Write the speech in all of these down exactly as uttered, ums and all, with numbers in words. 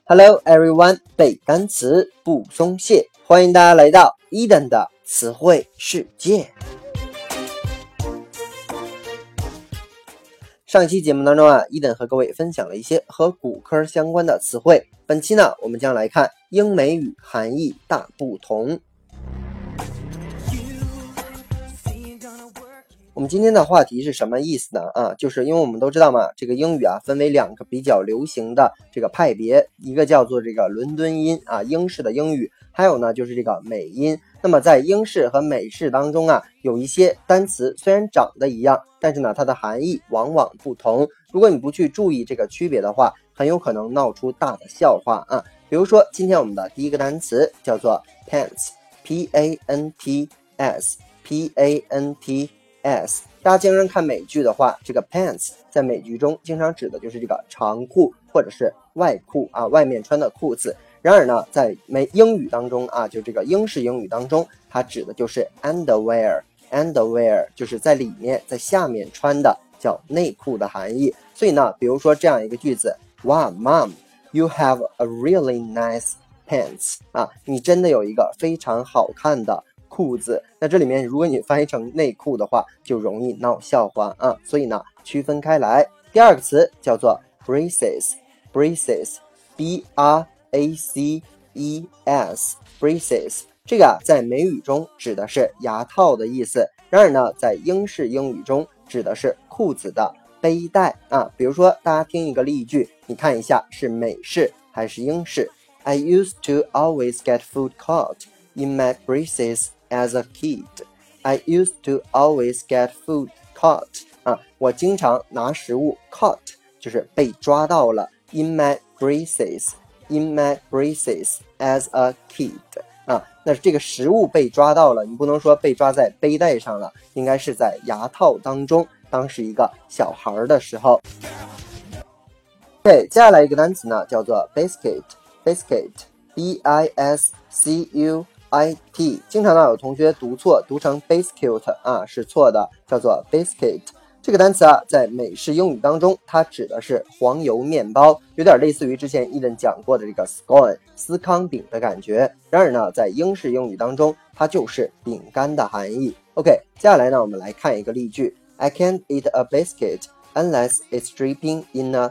Hello everyone， 背单词不松懈，欢迎大家来到 Eden 的词汇世界。上一期节目当中啊 ，Eden 和各位分享了一些和骨科相关的词汇。本期呢，我们将来看英美语含义大不同。我们今天的话题是什么意思呢？啊，就是因为我们都知道嘛，这个英语啊分为两个比较流行的这个派别，一个叫做这个伦敦音啊，英式的英语，还有呢就是这个美音。那么在英式和美式当中啊，有一些单词虽然长得一样，但是呢它的含义往往不同。如果你不去注意这个区别的话，很有可能闹出大的笑话啊。比如说今天我们的第一个单词叫做 pants， P A N T S P A N T S， 大家经常看美剧的话，这个 pants 在美剧中经常指的就是这个长裤或者是外裤啊，外面穿的裤子。然而呢，在美英语当中啊，就这个英式英语当中，它指的就是 underwear， underwear 就是在里面在下面穿的，叫内裤的含义。所以呢，比如说这样一个句子，哇 Mom you have a really nice pants 啊，你真的有一个非常好看的裤子。那这里面如果你翻译成内裤的话，就容易闹笑话啊，所以呢区分开来。第二个词叫做 braces， braces B R A C E S braces， 这个啊在美语中指的是牙套的意思，然而呢在英式英语中指的是裤子的背带啊。比如说大家听一个例句，你看一下是美式还是英式。 I used to always get food caught in my braces as a kid. I used to always get food caught 啊，我经常拿食物 caught 就是被抓到了 in my braces in my braces as a kid 啊，那这个食物被抓到了，你不能说被抓在背带上了，应该是在牙套当中，当时一个小孩的时候。OK， 接下来一个单词呢叫做 biscuit biscuit B I S C U I T， 经常呢有同学读错，读成 biscuit 啊，是错的，叫做 biscuit。这个单词啊，在美式英语当中，它指的是黄油面包，有点类似于之前Eden讲过的这个 scone 司康饼的感觉。然而呢，在英式英语当中，它就是饼干的含义。OK， 接下来呢，我们来看一个例句 ：I can't eat a biscuit unless it's dripping in a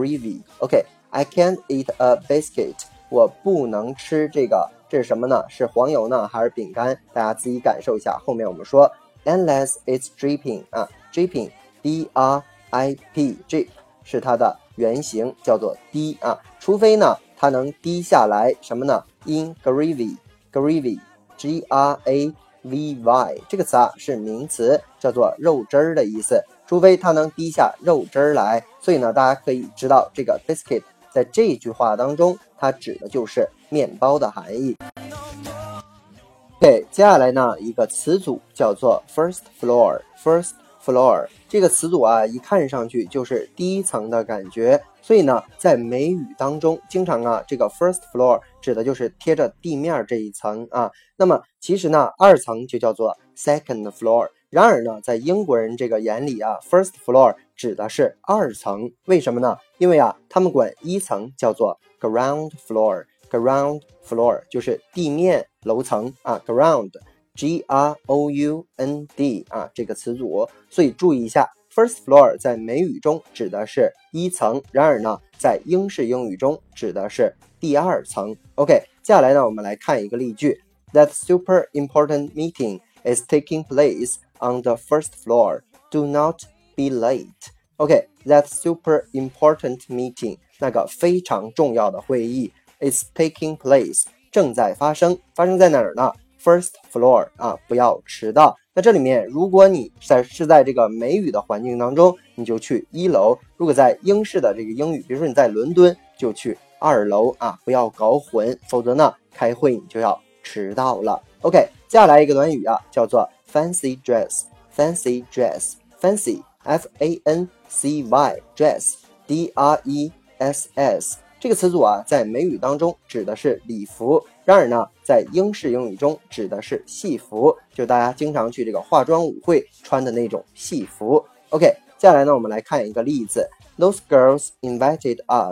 gravy。OK，I can't eat a biscuit， 我不能吃这个。这是什么呢？是黄油呢还是饼干？大家自己感受一下。后面我们说 unless it's dripping 啊 dripping D R I P drip 是它的原型，叫做滴啊，除非呢它能滴下来什么呢 in gravy gravy G R A V Y 这个词啊是名词，叫做肉汁儿的意思，除非它能滴下肉汁儿来。所以呢大家可以知道这个 biscuit 在这句话当中它指的就是面包的含义。OK， 接下来呢一个词组叫做 first floor first floor 这个词组啊一看上去就是第一层的感觉，所以呢在美语当中经常啊这个 first floor 指的就是贴着地面这一层啊，那么其实呢二层就叫做 second floor， 然而呢在英国人这个眼里啊 first floor 指的是二层，为什么呢？因为啊他们管一层叫做 ground floor ground floor 就是地面楼层啊 ground G R O U N D 啊这个词组，所以注意一下 first floor 在美语中指的是一层，然而呢在英式英语中指的是第二层。 OK， 接下来呢我们来看一个例句 That super important meeting is taking place on the first floor. Do not be late. OK, that super important meeting 那个非常重要的会议is taking place 正在发生，发生在哪儿呢？ First floor 啊，不要迟到。那这里面如果你在是在这个美语的环境当中，你就去一楼；如果在英式的这个英语，比如说你在伦敦，就去二楼啊，不要搞混，否则呢开会你就要迟到了。 OK， 接下来一个短语啊，叫做 fancy dress fancy dress fancy F A N C Y dress D R E S S这个词组啊，在美语当中指的是礼服，然而呢，在英式英语中指的是戏服，就大家经常去这个化妆舞会穿的那种戏服。OK， 接下来呢，我们来看一个例子 ：Those girls invited us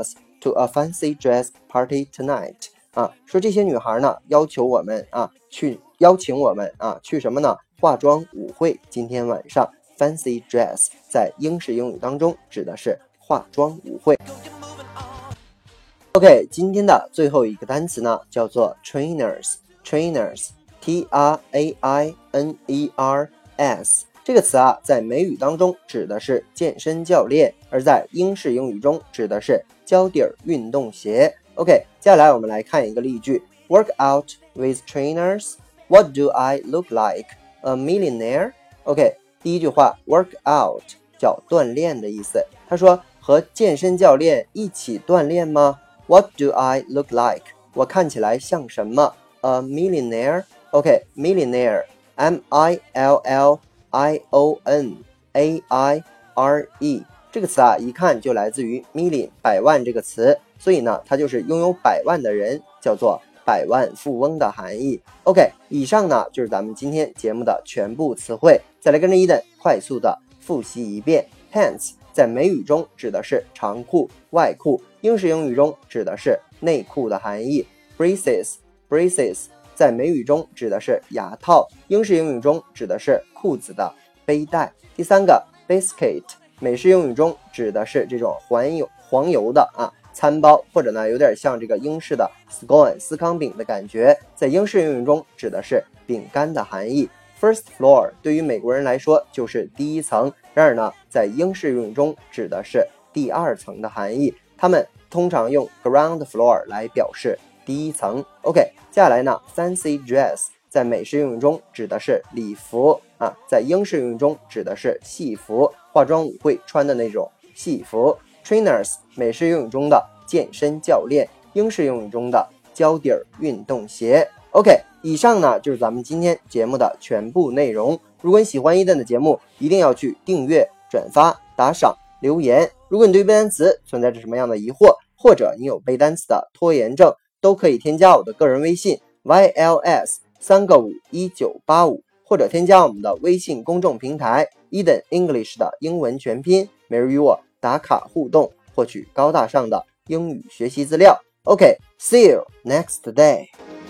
to a fancy dress party tonight 啊，说这些女孩呢要求我们啊去邀请我们啊去什么呢？化妆舞会，今天晚上 fancy dress 在英式英语当中指的是化妆舞会。OK， 今天的最后一个单词呢叫做 trainers trainers T R A I N E R S 这个词啊在美语当中指的是健身教练，而在英式英语中指的是胶底运动鞋。 OK， 接下来我们来看一个例句 Work out with trainers What do I look like? A millionaire? OK， 第一句话 work out 叫锻炼的意思，他说和健身教练一起锻炼吗？ What do I look like? 我看起来像什么？ A millionaire? OK, millionaire M I L L I O N A I R E 这个词啊一看就来自于 million 百万这个词，所以呢它就是拥有百万的人，叫做百万富翁的含义。 OK， 以上呢就是咱们今天节目的全部词汇，再来跟着伊登快速的复习一遍。 Pants 在美语中指的是长裤外裤，英式英语中指的是内裤的含义。 Braces braces 在美语中指的是牙套，英式英语中指的是裤子的背带。第三个 biscuit 美式英语中指的是这种黄油黄油的啊餐包，或者呢有点像这个英式的 scone 司康饼的感觉，在英式英语中指的是饼干的含义。 First floor 对于美国人来说就是第一层，然而呢在英式英语中指的是第二层的含义，他们通常用 ground floor 来表示第一层。 OK， 接下来呢 fancy dress 在美式英语中指的是礼服啊，在英式英语中指的是戏服，化妆舞会穿的那种戏服。Trainers 美式英语中的健身教练，英式英语中的胶底运动鞋。 OK， 以上呢就是咱们今天节目的全部内容。如果你喜欢伊登的节目，一定要去订阅、转发、打赏、留言。如果你对背单词存在着什么样的疑惑，或者你有背单词的拖延症，都可以添加我的个人微信 Y L S 三个五一九八五，或者添加我们的微信公众平台 Eden English 的英文全拼，每日与我打卡互动，获取高大上的英语学习资料。OK，see you next day。